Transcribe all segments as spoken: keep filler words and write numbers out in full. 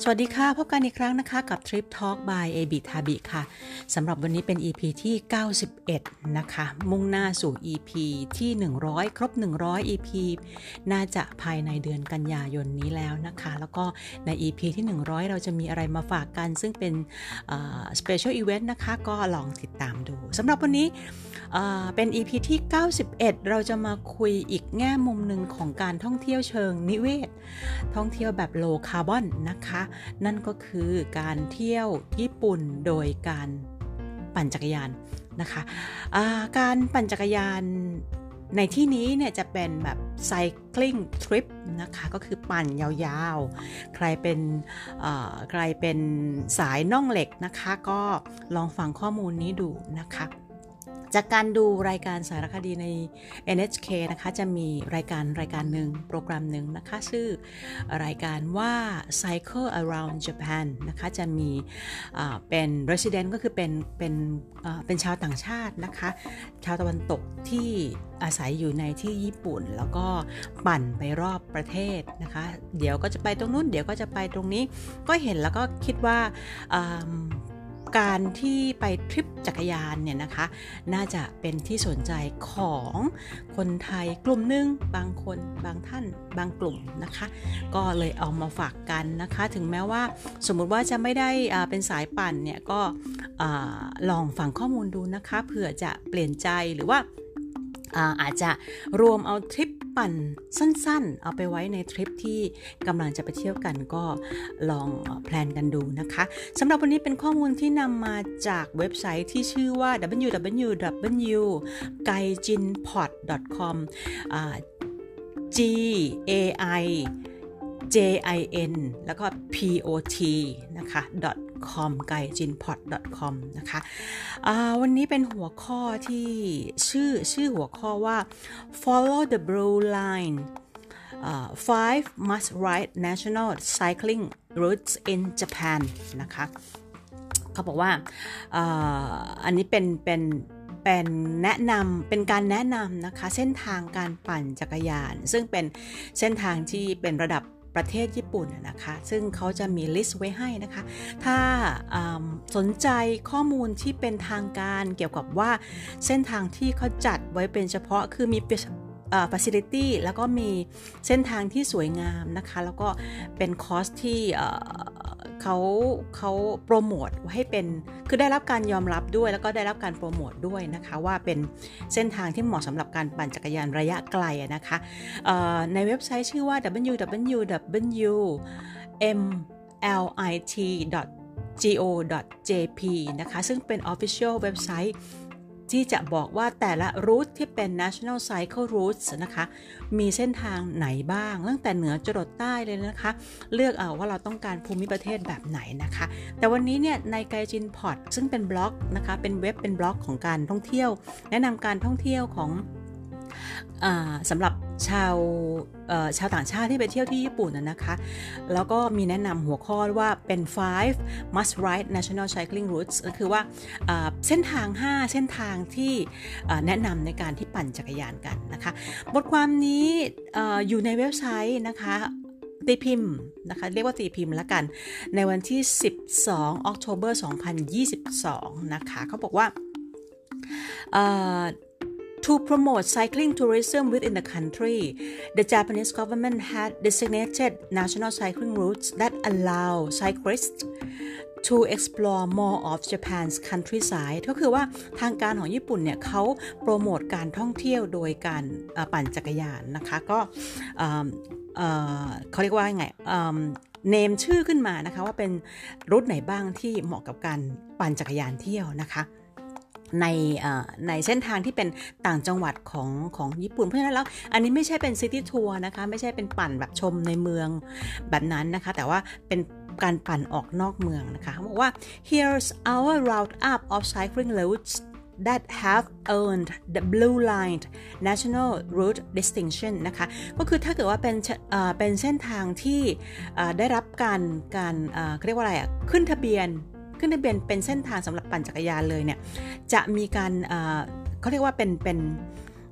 สวัสดีค่ะพบกันอีกครั้งนะคะกับ Trip Talk by เอ บี Tabi ค่ะสำหรับวันนี้เป็น อี พี ที่เก้าสิบเอ็ดนะคะมุ่งหน้าสู่ อี พี ที่หนึ่งร้อยครบหนึ่งร้อย อี พี น่าจะภายในเดือนกันยายนนี้แล้วนะคะแล้วก็ใน อี พี ที่หนึ่งร้อยเราจะมีอะไรมาฝากกันซึ่งเป็นเอ่อ Special Event นะคะก็ลองติดตามดูสำหรับวันนี้เอ่อเป็น อี พี ที่เก้าสิบเอ็ดเราจะมาคุยอีกแง่มุมหนึ่งของการท่องเที่ยวเชิงนิเวศท่องเที่ยวแบบ low carbon นะคะนั่นก็คือการเที่ยวญี่ปุ่นโดยการปั่นจักรยานนะคะการปั่นจักรยานในที่นี้เนี่ยจะเป็นแบบ cycling trip นะคะก็คือปั่นยาวๆใครเป็นใครเป็นสายน่องเหล็กนะคะก็ลองฟังข้อมูลนี้ดูนะคะจากการดูรายการสารคดีใน เอ็น เอช เค นะคะจะมีรายการรายการหนึ่งโปรแกรมหนึ่งนะคะชื่อรายการว่า Cycle Around Japan นะคะจะมีเป็น resident ก็คือเป็นเป็นเป็นชาวต่างชาตินะคะชาวตะวันตกที่อาศัยอยู่ในที่ญี่ปุ่นแล้วก็ปั่นไปรอบประเทศนะคะเดี๋ยวก็จะไปตรงนู้นเดี๋ยวก็จะไปตรงนี้ก็เห็นแล้วก็คิดว่าการที่ไปทริปจักรยานเนี่ยนะคะน่าจะเป็นที่สนใจของคนไทยกลุ่มหนึ่งบางคนบางท่านบางกลุ่มนะคะก็เลยเอามาฝากกันนะคะถึงแม้ว่าสมมุติว่าจะไม่ได้เป็นสายปั่นเนี่ยก็ลองฟังข้อมูลดูนะคะเผื่อจะเปลี่ยนใจหรือว่าอาจจะรวมเอาทริปปั่นสั้นๆเอาไปไว้ในทริปที่กำลังจะไปเที่ยวกันก็ลองแพลนกันดูนะคะสำหรับวันนี้เป็นข้อมูลที่นำมาจากเว็บไซต์ที่ชื่อว่า ดับเบิลยู ดับเบิลยู ดับเบิลยู ดอท ไกจินพอด ดอท คอม G A I J I N แล้วก็ P O T นะคะ .com ไกจินพอด ดอท คอม นะคะวันนี้เป็นหัวข้อที่ชื่อชื่อหัวข้อว่า Follow the Blue Line uh, five Must Ride National Cycling Routes in Japan นะคะเขาบอกว่า อ, อันนี้เป็นเป็นเป็นแนะนำเป็นการแนะนำนะคะเส้นทางการปั่นจักรยานซึ่งเป็นเส้นทางที่เป็นระดับประเทศญี่ปุ่นนะคะซึ่งเขาจะมีลิสต์ไว้ให้นะคะถ้าสนใจข้อมูลที่เป็นทางการเกี่ยวกับว่าเส้นทางที่เขาจัดไว้เป็นเฉพาะคือมีfacility แล้วก็มีเส้นทางที่สวยงามนะคะแล้วก็เป็นคอร์สที่เขาเขาโปรโมทให้เป็นคือได้รับการยอมรับด้วยแล้วก็ได้รับการโปรโมทด้วยนะคะว่าเป็นเส้นทางที่เหมาะสำหรับการปั่นจักรยานระยะไกลนะคะในเว็บไซต์ชื่อว่า ดับเบิลยู ดับเบิลยู ดับเบิลยู ดอท เอ็ม แอล ไอ ที ดอท จี โอ ดอท เจ พี นะคะซึ่งเป็น Official เว็บไซต์ที่จะบอกว่าแต่ละรูทที่เป็น National Cycle Routes นะคะมีเส้นทางไหนบ้างตั้งแต่เหนือจรดใต้เลยนะคะเลือกเอาว่าเราต้องการภูมิประเทศแบบไหนนะคะแต่วันนี้เนี่ยในไกจินพอดซึ่งเป็นบล็อกนะคะเป็นเว็บเป็นบล็อกของการท่องเที่ยวแนะนำการท่องเที่ยวของสำหรับชาวชาวต่างชาติที่ไปเที่ยวที่ญี่ปุ่นนะคะแล้วก็มีแนะนำหัวข้อว่าเป็น five must ride national cycling routes ก็คือว่าเส้นทางห้าเส้นทางที่แนะนำในการที่ปั่นจักรยานกันนะคะบทความนี้อยู่ในเว็บไซต์นะคะตีพิมพ์นะคะเรียกว่าตีพิมพ์ละกันในวันที่สิบสองตุลาคมสองพันยี่สิบสองนะคะเขาบอกว่าTo promote cycling tourism within the country, the Japanese government had designated national cycling routes that allow cyclists to explore more of Japan's countryside ก็คือว่าทางการของญี่ปุ่นเนี่ยเขาโปรโมทการท่องเที่ยวโดยการปั่นจักรยานนะคะก็เขาเรียกว่าไงเนมชื่อขึ้นมานะคะว่าเป็นรูทไหนบ้างที่เหมาะกับการปั่นจักรยานเที่ยวนะคะในในเส้นทางที่เป็นต่างจังหวัดของของญี่ปุ่นเพราะฉะนั้นแล้วอันนี้ไม่ใช่เป็นซิตี้ทัวร์นะคะไม่ใช่เป็นปั่นแบบชมในเมืองแบบนั้นนะคะแต่ว่าเป็นการปั่นออกนอกเมืองนะคะเขาบอกว่า here's our route up of cycling routes that have earned the Blue Line National Route distinction นะคะก็คือถ้าเกิดว่าเป็นเป็นเส้นทางที่ได้รับการการเรียกว่าอะไรอ่ะขึ้นทะเบียนขึ้นทะเบียนเป็นเส้นทางสำหรับปั่นจักรยานเลยเนี่ยจะมีการเขาเรียกว่าเป็นเป็น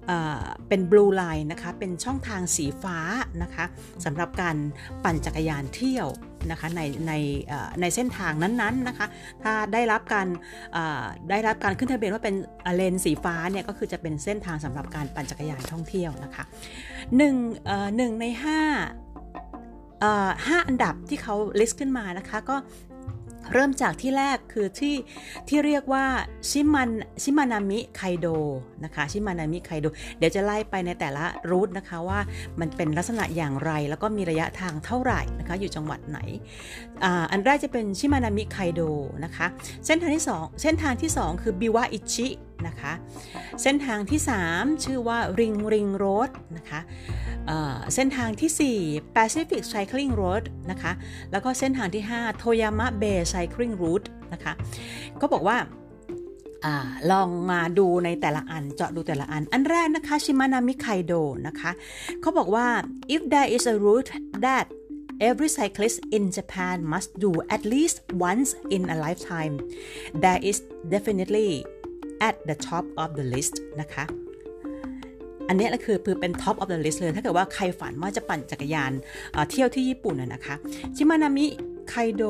เป็น blue line นะคะเป็นช่องทางสีฟ้านะคะสำหรับการปั่นจักรยานเที่ยวนะคะในในในเส้นทางนั้นๆนะคะถ้าได้รับการได้รับการขึ้นทะเบียนว่าเป็นเลนสีฟ้าเนี่ยก็คือจะเป็นเส้นทางสำหรับการปั่นจักรยานท่องเที่ยวนะคะหนึ่งเอ่อหนึ่งในห้าเอ่อห้าอันดับที่เขา list ขึ้นมานะคะก็เริ่มจากที่แรกคือที่ที่เรียกว่าชิมันชิมานามิไคโดนะคะชิมานามิไคโดเดี๋ยวจะไล่ไปในแต่ละรูทนะคะว่ามันเป็นลักษณะอย่างไรแล้วก็มีระยะทางเท่าไหร่นะคะอยู่จังหวัดไหน อ่า อันแรกจะเป็นชิมานามิไคโดนะคะเส้นทางที่สองเส้นทางที่สองคือบิวะอิชินะคะเส้นทางที่สามชื่อว่าริงริงโรดนะคะเส้นทางที่สี่ Pacific Cycling Road นะคะแล้วก็เส้นทางที่ห้า Toyama Bay Cycling Route นะคะก็บอกว่าอ่าลองมาดูในแต่ละอันเจาะดูแต่ละอันอันแรกนะคะชิมานามิไคโดนะคะเขาบอกว่า if there is a route that every cyclist in Japan must do at least once in a lifetime that is definitely at the top of the list นะคะอันนี้คือคือเป็น top of the list เลยถ้าเกิดว่าใครฝันว่าจะปั่นจักรยานเที่ยวที่ญี่ปุ่นนะคะชิมานามิไคโด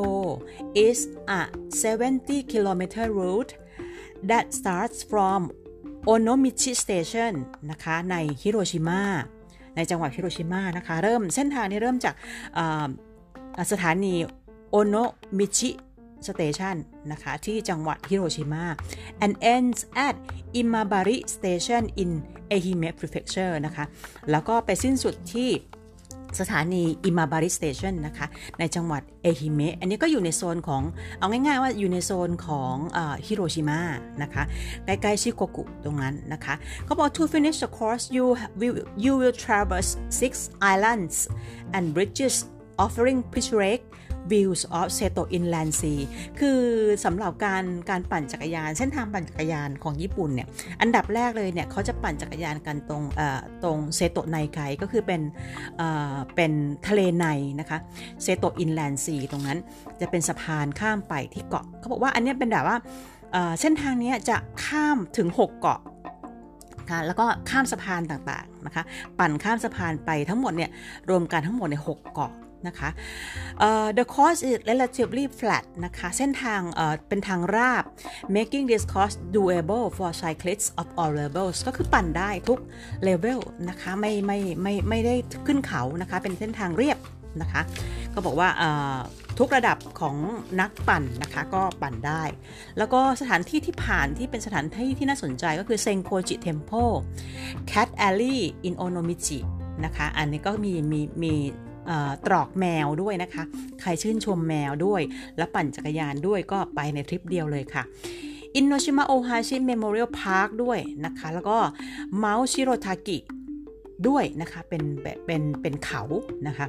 is a seventy kilometer route that starts from Onomichi Station นะคะในฮิโรชิมาในจังหวัดฮิโรชิมานะคะเริ่มเส้นทางนี้เริ่มจากสถานีโอโนมิชิสเตชันนะคะที่จังหวัดฮิโรชิมา and ends at Imabari Station in Ehime Prefecture นะคะแล้วก็ไปสิ้นสุดที่สถานี Imabari Station นะคะในจังหวัดเอฮิเมะอันนี้ก็อยู่ในโซนของเอาง่ายๆว่าอยู่ในโซนของฮิโรชิมานะคะใกล้ๆชิโกกุตรงนั้นนะคะเขาบอก to finish the course you will you will traverse six islands and bridges offering picturesque views of Seto Inland Sea คือสำหรับการการปั่นจักรยานเส้นทางปั่นจักรยานของญี่ปุ่นเนี่ยอันดับแรกเลยเนี่ยเขาจะปั่นจักรยานกันตรงเอ่อตรงเซโตะไนไกก็คือเป็นเอ่อเป็นทะเลในนะคะเซโตะอินแลนด์ซีตรงนั้นจะเป็นสะพานข้ามไปที่เกาะเขาบอกว่าอันนี้เป็นแบบว่าเอ่อเส้นทางนี้จะข้ามถึงหกเกาะค่ะแล้วก็ข้ามสะพานต่างๆนะคะปั่นข้ามสะพานไปทั้งหมดเนี่ยรวมกันทั้งหมดในหกเกาะนะคะ uh, the course is relatively flat นะคะเส้นทาง uh, เป็นทางราบ making this course doable for cyclists of all levels ก็คือปั่นได้ทุก level นะคะไม่ไม่ไม่ไม่ได้ขึ้นเขานะคะเป็นเส้นทางเรียบนะคะก็บอกว่า uh, ทุกระดับของนักปั่นนะคะก็ปั่นได้แล้วก็สถานที่ที่ผ่านที่เป็นสถานที่ที่น่าสนใจก็คือเซงโคจิเทมเพล Cat Alley in Onomichi นะคะอันนี้ก็มีมีมีตรอกแมวด้วยนะคะใครชื่นชมแมวด้วยและปั่นจักรยานด้วยก็ไปในทริปเดียวเลยค่ะ Inoshima Ohashi Memorial Park ด้วยนะคะแล้วก็ Mount Shirotaki ด้วยนะคะเป็นเป็นเป็นเขานะคะ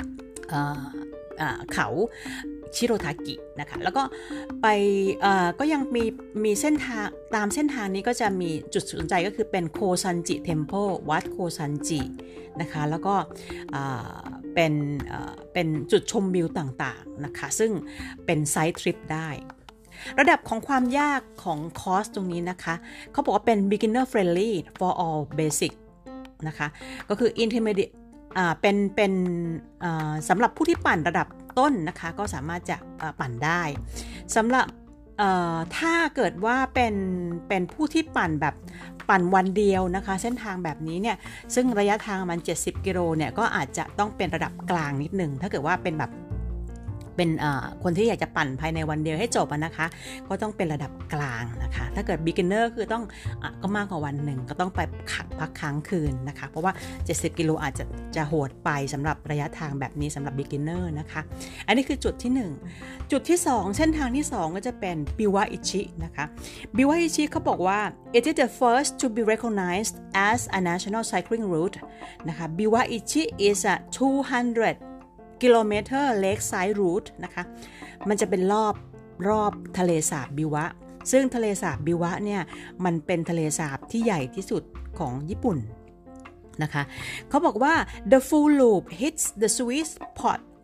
เขาชิโรทากินะคะแล้วก็ไปก็ยังมีมีเส้นทางตามเส้นทางนี้ก็จะมีจุดสนใจก็คือเป็นโคซันจิเทมเพลวัดโคซันจินะคะแล้วก็เป็นเป็นจุดชมวิวต่างๆนะคะซึ่งเป็นไซด์ทริปได้ระดับของความยากของคอร์สตรงนี้นะคะเขาบอกว่าเป็น beginner friendly for all basic นะคะก็คือ intermediate อ่าเป็นเป็นสำหรับผู้ที่ปั่นระดับต้นนะคะก็สามารถจะปั่นได้สำหรับถ้าเกิดว่าเป็นเป็นผู้ที่ปั่นแบบปั่นวันเดียวนะคะเส้นทางแบบนี้เนี่ยซึ่งระยะทางมันเจ็ดสิบกิโลเนี่ยก็อาจจะต้องเป็นระดับกลางนิดนึงถ้าเกิดว่าเป็นแบบเป็นคนที่อยากจะปั่นภายในวันเดียวให้จบนะคะก็ต้องเป็นระดับกลางนะคะถ้าเกิด beginner คือต้องอก็มากกว่าวันหนึ่งก็ต้องไปพักค้างคืนนะคะเพราะว่าเจ็ดสิบกิโลอาจจะจะโหดไปสำหรับระยะทางแบบนี้สำหรับ beginner นะคะอันนี้คือจุดที่หนึ่งจุดที่สองเส้นทางที่สองก็จะเป็นบิวะอิชินะคะบิวะอิชิเขาบอกว่า it is the first to be recognized as a national cycling route นะคะบิวะอิชิ is a two hundredกิโลเมตร Lakeside Route นะคะมันจะเป็นรอบรอบทะเลสาบบิวะซึ่งทะเลสาบบิวะเนี่ยมันเป็นทะเลสาบที่ใหญ่ที่สุดของญี่ปุ่นนะคะเขาบอกว่า the full loop hits the sweet spot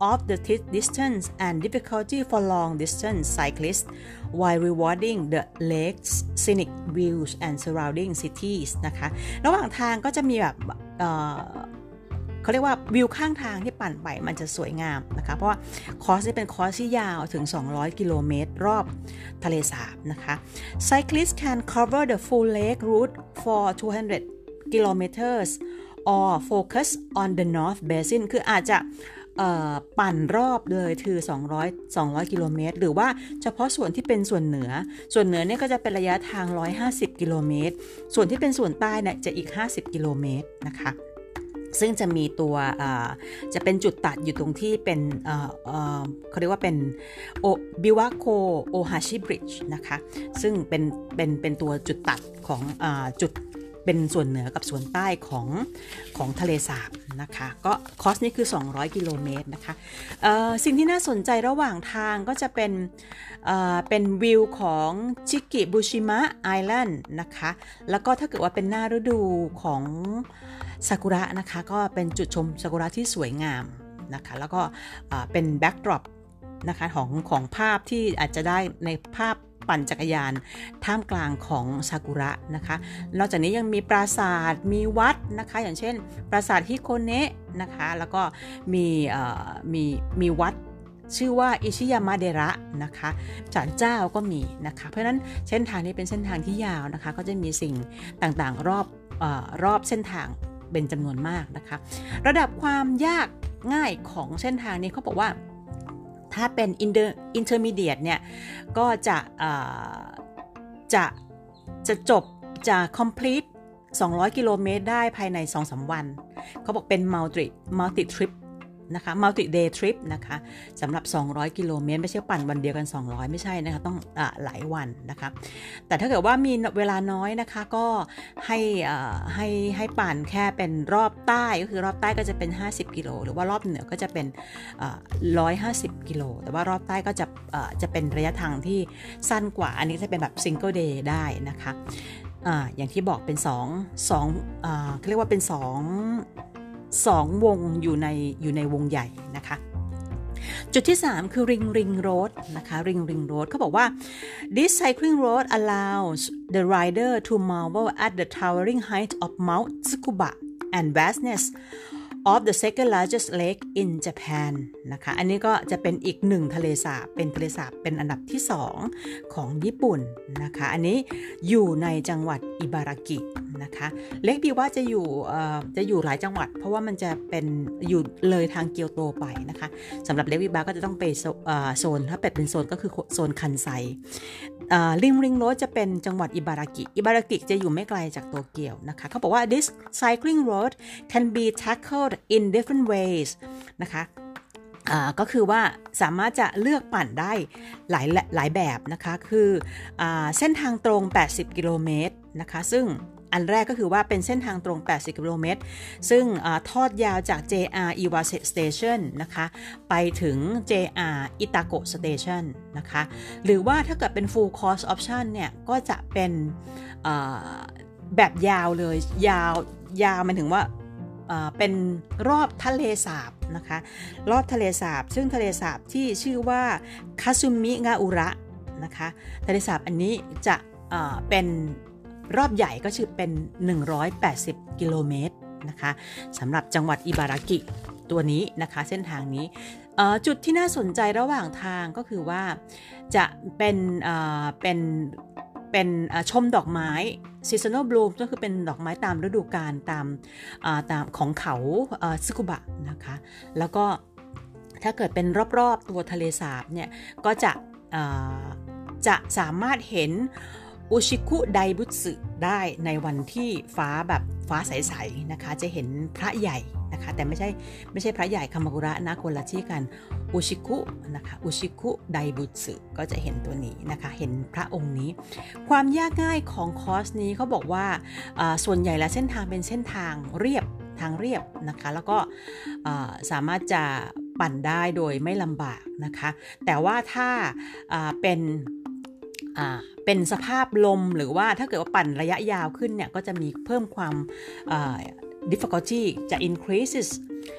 of the distance and difficulty for long distance cyclists while rewarding the lake's scenic views and surrounding cities นะคะระหว่างทางก็จะมีแบบเอ่อเขาเรียกว่าวิวข้างทางที่ปั่นไปมันจะสวยงามนะคะเพราะว่าคอร์สนี้เป็นคอร์สที่ยาวถึงสองร้อยกิโลเมตรรอบทะเลสาบนะคะ Cyclists can cover the full lake route for two hundred kilometers or focus on the North Basin คืออาจจะปั่นรอบเลยคือสองร้อย สองร้อยกิโลเมตรหรือว่าเฉพาะส่วนที่เป็นส่วนเหนือส่วนเหนือเนี่ยก็จะเป็นระยะทางหนึ่งร้อยห้าสิบกิโลเมตรส่วนที่เป็นส่วนใต้เนี่ยจะอีกห้าสิบกิโลเมตรนะคะซึ่งจะมีตัวจะเป็นจุดตัดอยู่ตรงที่เป็นเขาเรียกว่าเป็นโอบิวาโคโอฮาชิบริดจ์นะคะซึ่งเป็นเป็นเป็นตัวจุดตัดของจุดเป็นส่วนเหนือกับส่วนใต้ของของทะเลสาบนะคะก็คอร์สนี้คือสองร้อยกิโลเมตรนะคะสิ่งที่น่าสนใจระหว่างทางก็จะเป็นเป็นวิวของชิกิบุชิมะไอแลนด์นะคะแล้วก็ถ้าเกิดว่าเป็นหน้าฤดูของซากุระนะคะก็เป็นจุดชมซากุระที่สวยงามนะคะแล้วก็เป็นแบ็กดรอปนะคะของของภาพที่อาจจะได้ในภาพปั่นจักรยานท่ามกลางของซากุระนะคะนอกจากนี้ยังมีปราสาทมีวัดนะคะอย่างเช่นปราสาทฮิโคเนะนะคะแล้วก็มีมีมีวัดชื่อว่าอิชิยามะเดระนะคะศาลเจ้าก็มีนะคะเพราะฉะนั้นเส้นทางนี้เป็นเส้นทางที่ยาวนะคะก็จะมีสิ่งต่างๆรอบเอ่อรอบเส้นทางเป็นจำนวนมากนะคะระดับความยากง่ายของเส้นทางนี้เขาบอกว่าถ้าเป็น intermediate เนี่ยก็จะจะจะจบจะ complete สองร้อยกิโลเมตรได้ภายใน สองถึงสาม วันเขาบอกเป็น multi multi trip นะคะ multi day trip นะคะสำหรับสองร้อยกิโลเมตรไม่ใช่ปั่นวันเดียวกันสองร้อยไม่ใช่นะคะต้องอ่าหลายวันนะคะแต่ถ้าเกิดว่ามีเวลาน้อยนะคะก็ให้อ่าให้ให้ปั่นแค่เป็นรอบใต้ก็คือรอบใต้ก็จะเป็นห้าสิบกิโลหรือว่ารอบเหนือก็จะเป็นอ่าหนึ่งร้อยห้าสิบกิโลแต่ว่ารอบใต้ก็จะอ่าจะเป็นระยะทางที่สั้นกว่าอันนี้จะเป็นแบบ single day ได้นะคะอ่าอย่างที่บอกเป็นสอง สองอ่าเขาเรียกว่าเป็นสองสองวงอยู่ในอยู่ในวงใหญ่นะคะจุดที่สามคือริงริงโรดนะคะริงริงโรดเขาบอกว่า this cycling road allows the rider to marvel at the towering height of Mount Tsukuba and vastness of the second largest lake in Japan นะคะอันนี้ก็จะเป็นอีกหนึ่งทะเลสาบเป็นทะเลสาบเป็นอันดับที่สองของญี่ปุ่นนะคะอันนี้อยู่ในจังหวัดอิบารากินะคะเลคบิวะจะอยู่จะอยู่หลายจังหวัดเพราะว่ามันจะเป็นอยู่เลยทางเกียวโตไปนะคะสำหรับเลคบิวะก็จะต้องไปโซนถ้าเป็นโซนก็คือโซนคันไซริงริงโรดจะเป็นจังหวัดอิบารากิอิบารากิจะอยู่ไม่ไกลจากโตเกียวนะคะเขาบอกว่า this cycling road can be tackled in different ways นะคะก็คือว่าสามารถจะเลือกปั่นได้หลายหลายแบบนะคะคือเส้นทางตรงแปดสิบกิโลเมตรนะคะซึ่งอันแรกก็คือว่าเป็นเส้นทางตรงแปดสิบกิโลเมตรซึ่งทอดยาวจาก เจ อาร์ Iwase Station นะคะไปถึง เจ อาร์ Itako Station นะคะหรือว่าถ้าเกิดเป็น Full Course Option เนี่ยก็จะเป็นแบบยาวเลยยาวยาวมันถึงว่าเป็นรอบทะเลสาบนะคะรอบทะเลสาบซึ่งทะเลสาบที่ชื่อว่าคาซุมิงาอุระนะคะทะเลสาบอันนี้จะเป็นรอบใหญ่ก็คือเป็นหนึ่งร้อยแปดสิบกิโลเมตรนะคะสำหรับจังหวัดอิบารากิตัวนี้นะคะเส้นทางนี้จุดที่น่าสนใจระหว่างทางก็คือว่าจะเป็นเป็นเป็นชมดอกไม้ seasonal bloom ก็คือเป็นดอกไม้ตามฤดูกาลตามตามของเขาซึคุบะนะคะแล้วก็ถ้าเกิดเป็นรอบๆตัวทะเลสาบเนี่ยก็จะจะสามารถเห็นอุชิคุไดบุสึได้ในวันที่ฟ้าแบบฟ้าใสๆนะคะจะเห็นพระใหญ่นะคะแต่ไม่ใช่ไม่ใช่พระใหญ่คามากุระนะคนละที่กันอุชิคุนะคะอุชิคุไดบุสึก็จะเห็นตัวนี้นะคะเห็นพระองค์นี้ความยากง่ายของคอร์สนี้เขาบอกว่าส่วนใหญ่แล้วเส้นทางเป็นเส้นทางเรียบทางเรียบนะคะแล้วก็สามารถจะปั่นได้โดยไม่ลำบากนะคะแต่ว่าถ้าเป็นเป็นสภาพลมหรือว่าถ้าเกิดว่าปั่นระยะยาวขึ้นเนี่ยก็จะมีเพิ่มความ difficulty จะ increases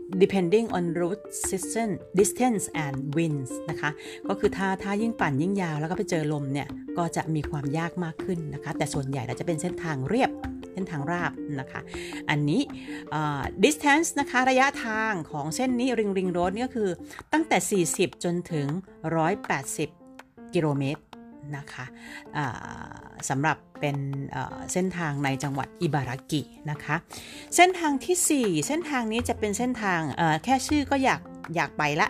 depending on route distance distance and winds นะคะก็คือถ้าถ้ายิ่งปั่นยิ่งยาวแล้วก็ไปเจอลมเนี่ยก็จะมีความยากมากขึ้นนะคะแต่ส่วนใหญ่เราจะเป็นเส้นทางเรียบเส้นทางราบนะคะอันนี้ uh, distance นะคะระยะทางของเส้นนี้ ring ring road นี่ก็คือตั้งแต่สี่สิบจนถึงหนึ่งร้อยแปดสิบกิโลเมตรนะคะสำหรับเป็นเส้นทางในจังหวัดอิบารากินะคะเส้นทางที่สี่เส้นทางนี้จะเป็นเส้นทางแค่ชื่อก็อยากอยากไปละ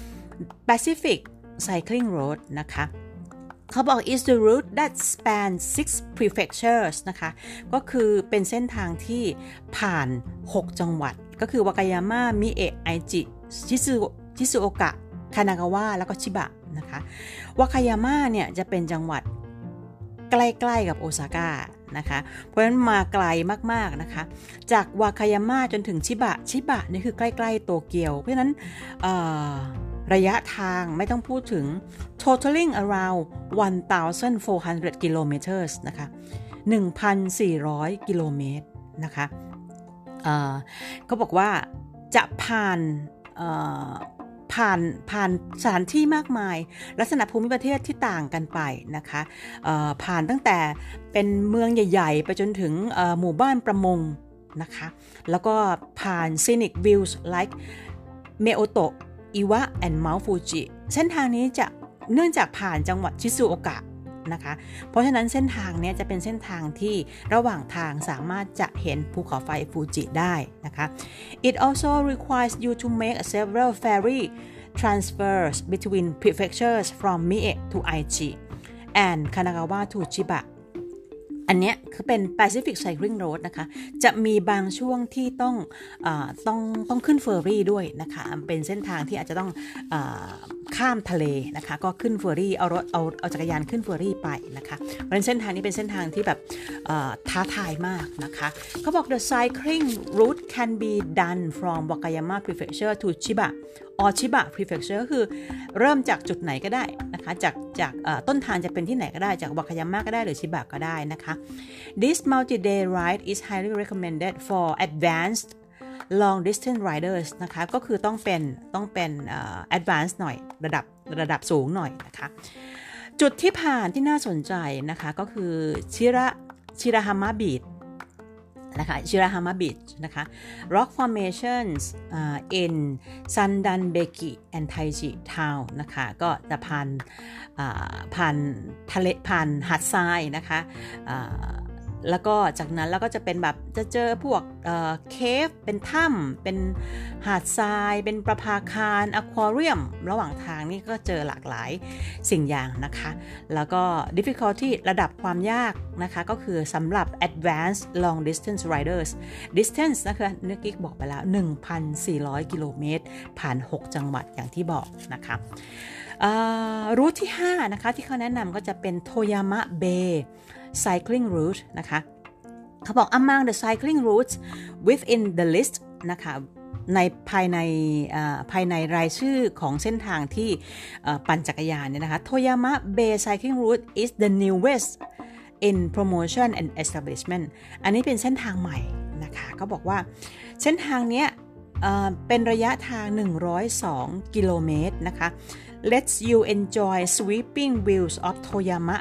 Pacific Cycling Road นะคะเขาบอก is the route that spans six prefectures นะคะก็คือเป็นเส้นทางที่ผ่านหกจังหวัดก็คือวากายาม่ามิเอะไอจิชิซุชิซุโอกะคานากาวะแล้วก็ชิบะนะคะวากายาม่าเนี่ยจะเป็นจังหวัดใกล้ๆกับโอซาก้านะคะเพราะฉะนั้นมาไกลมากๆนะคะจากวากายาม่าจนถึงชิบะชิบะนี่คือใกล้ๆโตเกียวเพราะฉะนั้นระยะทางไม่ต้องพูดถึง totaling around one thousand four hundred kilometers นะคะ หนึ่งพันสี่ร้อย กิโลเมตรนะคะเขาบอกว่าจะผ่านผ่านผ่านสถานที่มากมายลักษณะภูมิประเทศที่ต่างกันไปนะคะผ่านตั้งแต่เป็นเมืองใหญ่ๆไปจนถึงหมู่บ้านประมงนะคะแล้วก็ผ่าน scenic views like เมโอโตะอิวะ and Mount Fuji เส้นทางนี้จะเนื่องจากผ่านจังหวัดชิซุโอกะนะคะเพราะฉะนั้นเส้นทางนี้จะเป็นเส้นทางที่ระหว่างทางสามารถจะเห็นภูเขาไฟฟูจิได้นะคะ It also requires you to make several ferry transfers between prefectures from Mie to Aichi and Kanagawa to Chibaอันนี้คือเป็น Pacific Cycling Road นะคะจะมีบางช่วงที่ต้องเอ่อต้องต้องขึ้นเฟอร์รี่ด้วยนะคะเป็นเส้นทางที่อาจจะต้องเอ่อข้ามทะเลนะคะก็ขึ้นเฟอร์รี่เอารถเอาเอาจักรยานขึ้นเฟอร์รี่ไปนะคะเพราะฉะนั้นเส้นทางนี้เป็นเส้นทางที่แบบท้าทายมากนะคะเขาบอก the cycling route can be done from Wakayama Prefecture to Chiba or Chiba Prefecture ก็คือเริ่มจากจุดไหนก็ได้นะคะจากจากต้นทางจะเป็นที่ไหนก็ได้จากวากายาม่าก็ได้หรือชิบะก็ได้นะคะ This multi-day ride is highly recommended for advanced long distance riders นะคะก็คือต้องเป็นต้องเป็น uh, advanced หน่อยระดับระดับสูงหน่อยนะคะจุดที่ผ่านที่น่าสนใจนะคะก็คือชิระชิราฮามะบีชนะคะชิราฮามะบีชนะคะ rock formations uh, in Sandanbeki and Taiji Town นะคะก็จะผ่านผ่านทะเลผ่านหาดทรายนะคะแล้วก็จากนั้นแล้วก็จะเป็นแบบจะเจอพวกเคฟเป็นถ้ำเป็นหาดทรายเป็นประภาคารอควาเรียมระหว่างทางนี่ก็เจอหลากหลายสิ่งอย่างนะคะแล้วก็ difficulty ระดับความยากนะคะก็คือสำหรับ advanced long distance riders distance นะคะเมื่อกี้บอกไปแล้ว หนึ่งพันสี่ร้อย กิโลเมตรผ่านหกจังหวัดอย่างที่บอกนะคะรูทที่ห้านะคะที่เขาแนะนำก็จะเป็นโทยามะเบย์cycling route นะคะเขาบอก among the cycling routes within the list นะคะในภายในภายในรายชื่อของเส้นทางที่ปั่นจักรยานเนี่ยนะคะ Toyama Bay Cycling Route is the newest in promotion and establishment อันนี้เป็นเส้นทางใหม่นะคะเขาบอกว่าเส้นทางเนี้ยเป็นระยะทางหนึ่งร้อยสองกิโลเมตรนะคะ Let's you enjoy sweeping views of Toyama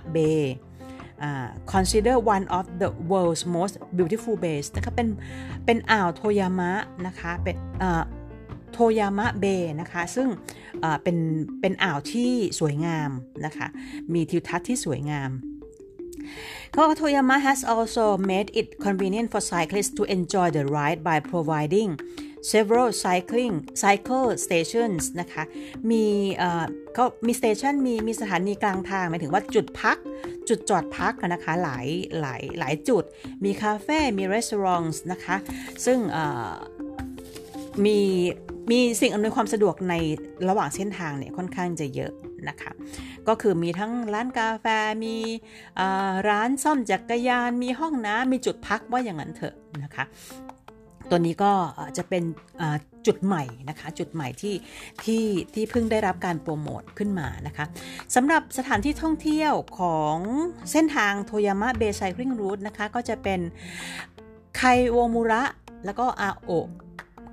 Bay、uh, consider one of the world's most beautiful bays นะคะเป็นเป็นอ่าวโทยามะนะคะเป็นโทยามะเบย์นะคะซึ่งเป็นเป็นอ่าวที่สวยงามนะคะมีทิวทัศน์ที่สวยงามToyama has also made it convenient for cyclists to enjoy the ride by providing several cycling cycle stations นะคะมีเอ่อเขามี station มีมีสถานีกลางทางหมายถึงว่าจุดพักจุดจอดพักนะคะหลายหลายหลายจุดมีคาเฟ่มีร้านนะคะซึ่งเอ่อมีมีสิ่งอำนวยความสะดวกในระหว่างเส้นทางเนี่ยค่อนข้างจะเยอะนะคะก็คือมีทั้งร้านกาแฟมีร้านซ่อมจักรยานมีห้องน้ำมีจุดพักว่าอย่างนั้นเถอะนะคะตัวนี้ก็จะเป็นจุดใหม่นะคะจุดใหม่ที่ที่ที่เพิ่งได้รับการโปรโมทขึ้นมานะคะสำหรับสถานที่ท่องเที่ยวของเส้นทางโทยามะเบย์ไซคลิงรูทนะคะก็จะเป็นไคโอมุระแล้วก็อาโอ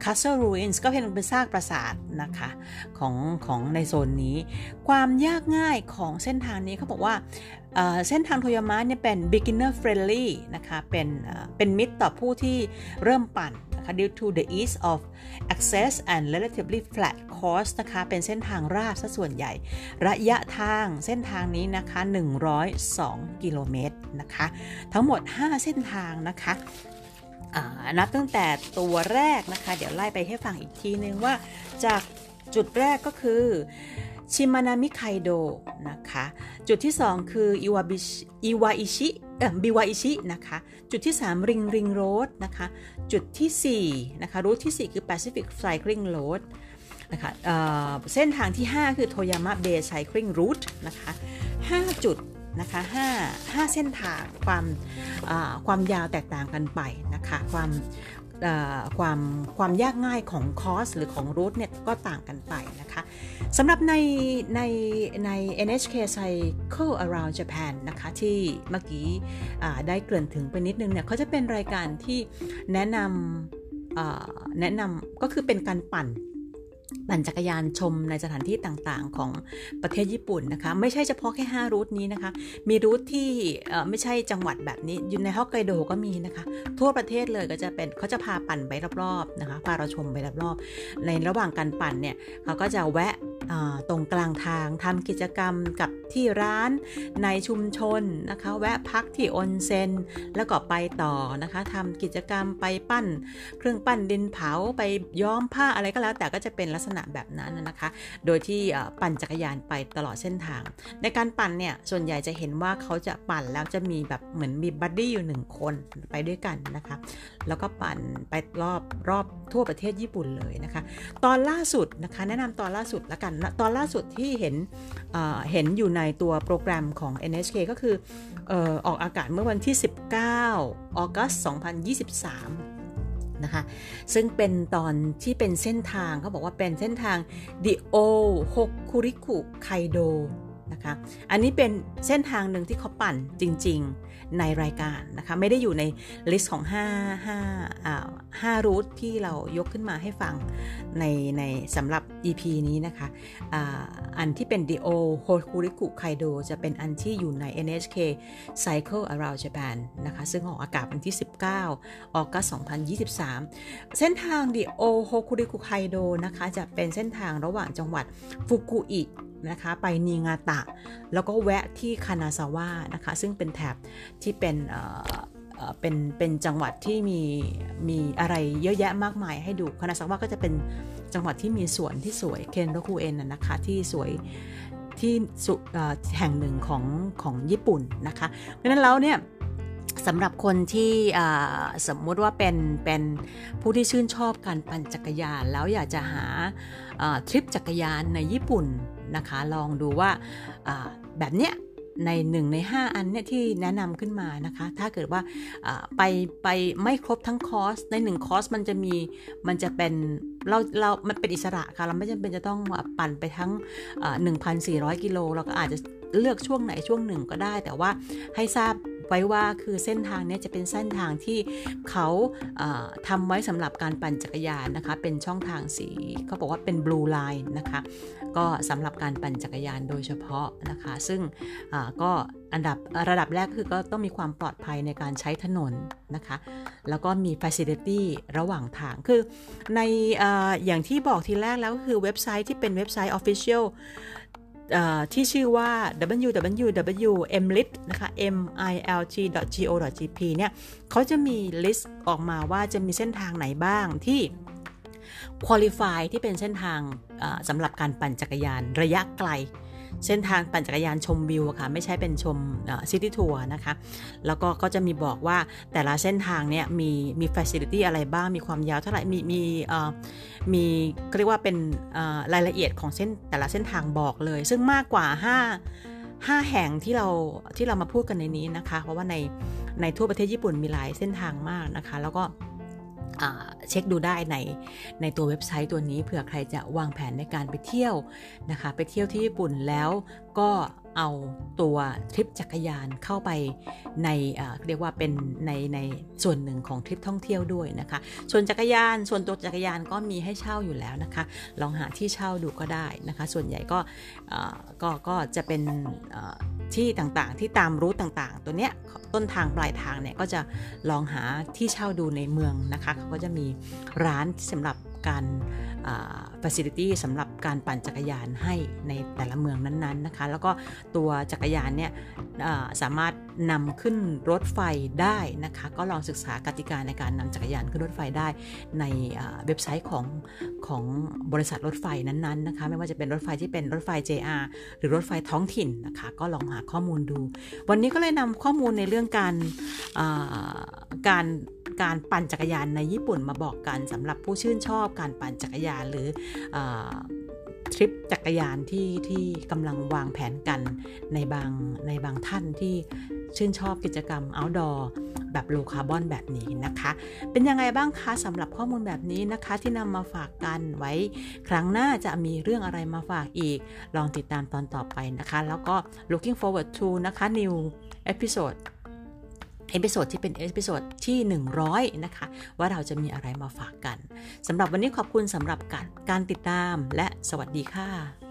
Castle Ruins ก็เป็นเป็นซากปราสาทนะคะของของในโซนนี้ความยากง่ายของเส้นทางนี้เขาบอกว่าเส้นทางโทยามะเนี่ยเป็น beginner friendly นะคะเป็นเป็นมิตรต่อผู้ที่เริ่มปั่นนะคะ due to the ease of access and relatively flat course นะคะเป็นเส้นทางราบซะส่วนใหญ่ระยะทางเส้นทางนี้นะคะหนึ่งร้อยสองกิโลเมตรนะคะทั้งหมดห้าเส้นทางนะคะนับตั้งแต่ตัวแรกนะคะเดี๋ยวไล่ไปให้ฟังอีกทีนึงว่าจากจุดแรกก็คือชิมานามิไคโดนะคะจุดที่สองคืออิวาบิอิวาอิชิเอ่อบิวาอิชินะคะจุดที่สามริงริงโรดนะคะจุดที่สี่นะคะรูทที่สี่คือ Pacific Cycling Road นะคะเอ่อเส้นทางที่ห้าคือโทยามะเบย์ไซคลิงรูทนะคะห้าจุดนะคะห้า ห้าเส้นทางความความยาวแตกต่างกันไปนะคะความความความยากง่ายของคอร์สหรือของรูทเนี่ยก็ต่างกันไปนะคะสำหรับในในใน เอ็น เอช เค Cycle Around Japan นะคะที่เมื่อกี้ได้เกริ่นถึงไปนิดนึงเนี่ยเขาจะเป็นรายการที่แนะนำแนะนำก็คือเป็นการปั่นปั่นจักรยานชมในสถานที่ต่างๆของประเทศญี่ปุ่นนะคะไม่ใช่เฉพาะแค่ห้ารูทนี้นะคะมีรูทที่ไม่ใช่จังหวัดแบบนี้อยู่ในฮอกไกโดก็มีนะคะทั่วประเทศเลยก็จะเป็นเขาจะพาปั่นไปรอบๆนะคะพาเราชมไปรอบๆในระหว่างการปั่นเนี่ยเขาก็จะแวะตรงกลางทางทำกิจกรรมกับที่ร้านในชุมชนนะคะแวะพักที่ออนเซ็นแล้วก็ไปต่อนะคะทำกิจกรรมไปปั้นเครื่องปั้นดินเผาไปย้อมผ้าอะไรก็แล้วแต่ก็จะเป็นลักษณะแบบนั้นนะคะโดยที่ปั่นจักรยานไปตลอดเส้นทางในการปั่นเนี่ยส่วนใหญ่จะเห็นว่าเขาจะปั่นแล้วจะมีแบบเหมือนมีบัดดี้อยู่หนึ่งคนไปด้วยกันนะคะแล้วก็ปั่นไปรอบรอบทั่วประเทศญี่ปุ่นเลยนะคะตอนล่าสุดนะคะแนะนำตอนล่าสุดละกันตอนล่าสุดที่เห็นเอ่อเห็นอยู่ในตัวโปรแกรมของ เอ็น เอช เค ก็คือเอ่อออกอากาศเมื่อวันที่สิบเก้าออกัสสองพันยี่สิบสามนะคะซึ่งเป็นตอนที่เป็นเส้นทางเขาบอกว่าเป็นเส้นทาง The Old Hokuriku Kaido นะคะอันนี้เป็นเส้นทางหนึ่งที่เขาปั่นจริงๆในรายการนะคะไม่ได้อยู่ในลิสต์ของห้า ห้าอ่าห้ารูทที่เรายกขึ้นมาให้ฟังในในสำหรับ อี พี นี้นะคะอ่าอันที่เป็น The Old Hokuriku Kaido จะเป็นอันที่อยู่ใน เอ็น เอช เค Cycle Around Japan นะคะซึ่งออกอากาศวันที่สิบเก้าออกัสสองพันยี่สิบสามเส้นทาง The Old Hokuriku Kaido นะคะจะเป็นเส้นทางระหว่างจังหวัดฟุกุอินะคะไปนิงาตะแล้วก็แวะที่คานาซาวะนะคะซึ่งเป็นแถบที่เป็นเอ่อเอ่อเป็นเป็นจังหวัดที่มีมีอะไรเยอะแยะมากมายให้ดูคานาซาวะก็จะเป็นจังหวัดที่มีสวนที่สวยเคนโรคุเอ็นนะคะที่สวยที่แห่งหนึ่งของของญี่ปุ่นนะคะเพราะฉะนั้นแล้วเนี่ยสำหรับคนที่สมมติว่าเป็นเป็นผู้ที่ชื่นชอบการปั่นจักรยานแล้วอยากจะหาทริปจักรยานในญี่ปุ่นนะคะลองดูว่าแบบเนี้ยในหนึ่งในห้าอันเนี่ยที่แนะนำขึ้นมานะคะถ้าเกิดว่าไปไปไม่ครบทั้งคอร์สในหนึ่งคอร์สมันจะมีมันจะเป็นเราเรามันเป็นอิสระค่ะเราไม่จำเป็นจะต้องปั่นไปทั้ง หนึ่งพันสี่ร้อย กิโลเราก็อาจจะเลือกช่วงไหนช่วงหนึ่งก็ได้แต่ว่าให้ทราบไว้ว่าคือเส้นทางนี้จะเป็นเส้นทางที่เขาทำไว้สำหรับการปั่นจักรยานนะคะเป็นช่องทางสีเขาบอกว่าเป็น blue line นะคะก็สำหรับการปั่นจักรยานโดยเฉพาะนะคะซึ่งก็อันดับระดับแรกคือก็ต้องมีความปลอดภัยในการใช้ถนนนะคะแล้วก็มี facility ระหว่างทางคือใน อ, อย่างที่บอกทีแรกแล้วก็คือเว็บไซต์ที่เป็นเว็บไซต์ officialที่ชื่อว่า ดับเบิลยู ดับเบิลยู ดับเบิลยู ดอท เอ็ม ไอ แอล ที นะคะ เอ็ม ไอ แอล ที ดอท จี โอ ดอท จี พี เนี่ยเขาจะมีลิสต์ออกมาว่าจะมีเส้นทางไหนบ้างที่ qualify ที่เป็นเส้นทางสำหรับการปั่นจักรยานระยะไกลเส้นทางปั่นจักรยานชมวิวค่ะไม่ใช่เป็นชมซิตี้ทัวร์นะคะแล้วก็ก็จะมีบอกว่าแต่ละเส้นทางเนี่ยมีมีฟาซิลิตี้อะไรบ้างมีความยาวเท่าไหร่มีมีมีเรียกว่าเป็นรายละเอียดของเส้นแต่ละเส้นทางบอกเลยซึ่งมากกว่าห้า ห้าแห่งที่เราที่เรามาพูดกันในนี้นะคะเพราะว่าในในทั่วประเทศญี่ปุ่นมีหลายเส้นทางมากนะคะแล้วก็เช็คดูได้ในในตัวเว็บไซต์ตัวนี้เผื่อใครจะวางแผนในการไปเที่ยวนะคะไปเที่ยวที่ญี่ปุ่นแล้วก็เอาตัวทริปจักรยานเข้าไปในเรียกว่าเป็นในในส่วนหนึ่งของทริปท่องเที่ยวด้วยนะคะส่วนจักรยานส่วนตัวจักรยานก็มีให้เช่าอยู่แล้วนะคะลองหาที่เช่าดูก็ได้นะคะส่วนใหญ่ก็ก็ก็จะเป็นที่ต่างๆที่ตามรูทต่างๆตัวเนี้ยต้นทางปลายทางเนี่ยก็จะลองหาที่เช่าดูในเมืองนะคะเขาก็จะมีร้านสำหรับการfacility สำหรับการปั่นจักรยานให้ในแต่ละเมืองนั้นๆนะคะแล้วก็ตัวจักรยานเนี่ยสามารถนำขึ้นรถไฟได้นะคะก็ลองศึกษากติกาในการนำจักรยานขึ้นรถไฟได้ในเว็บไซต์ของของบริษัทรถไฟนั้นๆนะคะไม่ว่าจะเป็นรถไฟที่เป็นรถไฟ เจ อาร์ หรือรถไฟท้องถิ่นนะคะก็ลองหาข้อมูลดูวันนี้ก็เลยนำข้อมูลในเรื่องการการการปั่นจักรยานในญี่ปุ่นมาบอกกันสำหรับผู้ชื่นชอบการปั่นจักรยานหรือทริปจักรยานที่ที่กำลังวางแผนกันในบางในบางท่านที่ชื่นชอบกิจกรรม outdoor แบบโลคาร์บอนแบบนี้นะคะเป็นยังไงบ้างคะสำหรับข้อมูลแบบนี้นะคะที่นำมาฝากกันไว้ครั้งหน้าจะมีเรื่องอะไรมาฝากอีกลองติดตามตอนต่อไปนะคะแล้วก็ looking forward to นะคะ new episodeเอพิโซดที่เป็นเอพิโซดที่หนึ่งร้อยนะคะว่าเราจะมีอะไรมาฝากกันสำหรับวันนี้ขอบคุณสำหรับการการติดตามและสวัสดีค่ะ